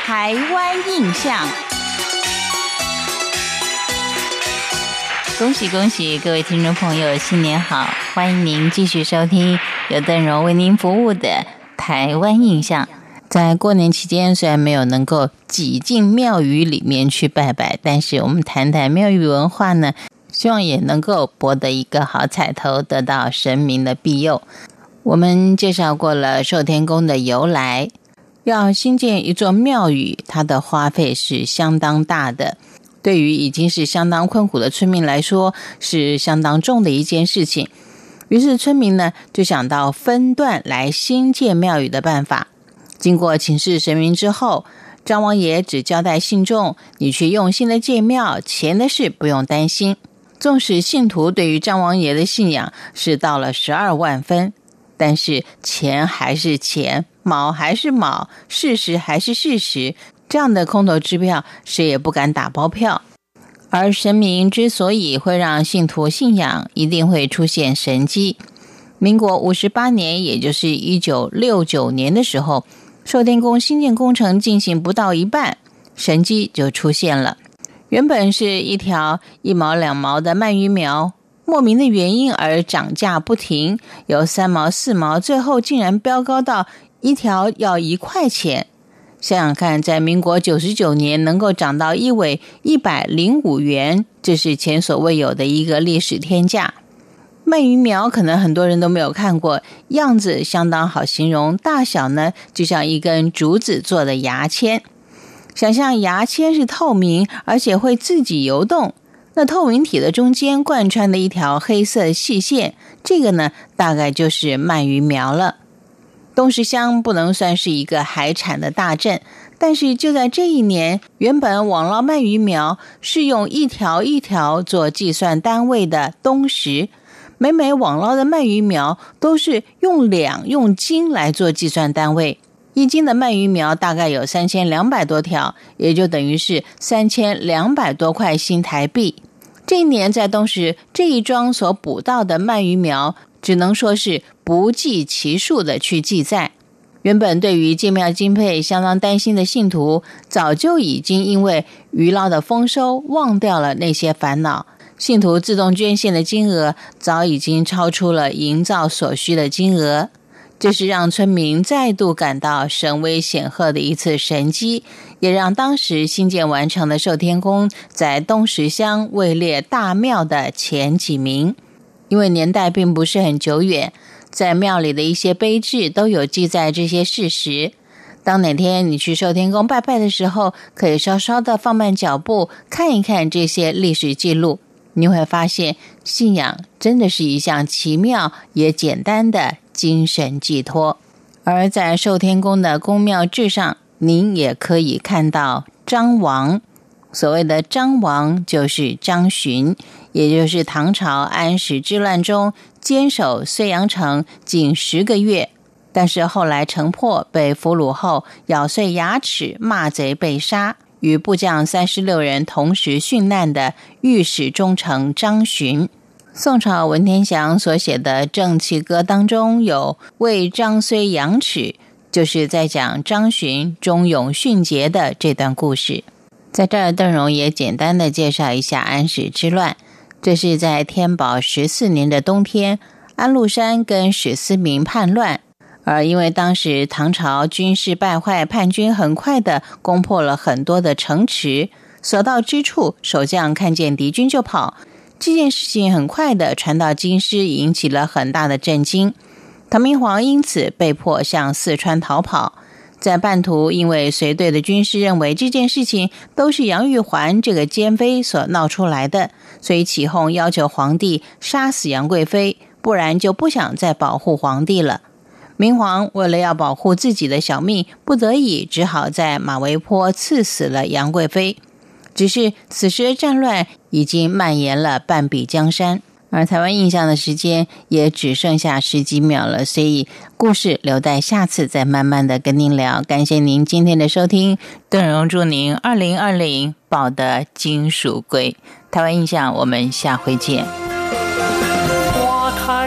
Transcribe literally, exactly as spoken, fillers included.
台湾印象。恭喜恭喜各位听众朋友，新年好！欢迎您继续收听由邓荣为您服务的台湾印象。在过年期间，虽然没有能够挤进庙宇里面去拜拜，但是我们谈谈庙宇文化呢，希望也能够博得一个好彩头，得到神明的庇佑。我们介绍过了寿天宫的由来，要兴建一座庙宇，它的花费是相当大的，对于已经是相当困苦的村民来说，是相当重的一件事情。于是村民呢，就想到分段来兴建庙宇的办法。经过请示神明之后，张王爷只交代信众，你去用心的建庙，钱的事不用担心。纵使信徒对于张王爷的信仰是到了十二万分，但是钱还是钱，卯还是卯，事实还是事实，这样的空头支票谁也不敢打包票。而神明之所以会让信徒信仰，一定会出现神迹。民国五十八年，也就是一九六九年的时候，寿天宫兴建工程进行不到一半，神迹就出现了。原本是一条一毛两毛的鳗鱼苗，莫名的原因而涨价不停，由三毛四毛，最后竟然飙高到一条要一块钱。想想看，在民国九十九年能够涨到一尾一百零五元，这是前所未有的一个历史天价。鳗鱼苗可能很多人都没有看过，样子相当好形容，大小呢就像一根竹子做的牙签。想象牙签是透明，而且会自己游动，那透明体的中间贯穿的一条黑色细线，这个呢大概就是鳗鱼苗了。东石乡不能算是一个海产的大镇，但是就在这一年，原本网捞鳗鱼苗是用一条一条做计算单位的东石，每每网捞的鳗鱼苗都是用两用斤来做计算单位，一斤的鳗鱼苗大概有三千两百多条，也就等于是三千两百多块新台币。这一年在东石这一庄所捕到的鳗鱼苗，只能说是不计其数的去记载。原本对于建庙经费相当担心的信徒，早就已经因为鱼捞的丰收忘掉了那些烦恼。信徒自动捐献的金额早已经超出了营造所需的金额，这是让村民再度感到神威显赫的一次神迹，也让当时新建完成的寿天宫在东石乡位列大庙的前几名。因为年代并不是很久远，在庙里的一些碑志都有记载这些事实。当哪天你去寿天宫拜拜的时候，可以稍稍的放慢脚步，看一看这些历史记录，你会发现信仰真的是一项奇妙也简单的精神寄托。而在寿天宫的宫庙志上，您也可以看到张王。所谓的张王就是张巡，也就是唐朝安史之乱中坚守睢阳城近十个月，但是后来城破，被俘虏后咬碎牙齿，骂贼被杀，与部将三十六人同时殉难的御史中丞张巡。宋朝文天祥所写的《正气歌》当中有为张睢扬齿，就是在讲张巡忠勇殉节的这段故事。在这儿，邓荣也简单的介绍一下安史之乱。这是在天宝十四年的冬天，安禄山跟史思明叛乱，而因为当时唐朝军事败坏，叛军很快的攻破了很多的城池，所到之处，守将看见敌军就跑。这件事情很快的传到京师，引起了很大的震惊。唐明皇因此被迫向四川逃跑。在半途，因为随队的军士认为这件事情都是杨玉环这个奸妃所闹出来的，所以起哄要求皇帝杀死杨贵妃，不然就不想再保护皇帝了。明皇为了要保护自己的小命，不得已只好在马嵬坡赐死了杨贵妃。只是此时的战乱已经蔓延了半壁江山，而台湾印象的时间也只剩下十几秒了，所以故事留待下次再慢慢的跟您聊。感谢您今天的收听，邓荣祝您二零二零保得金属贵。台湾印象，我们下回见。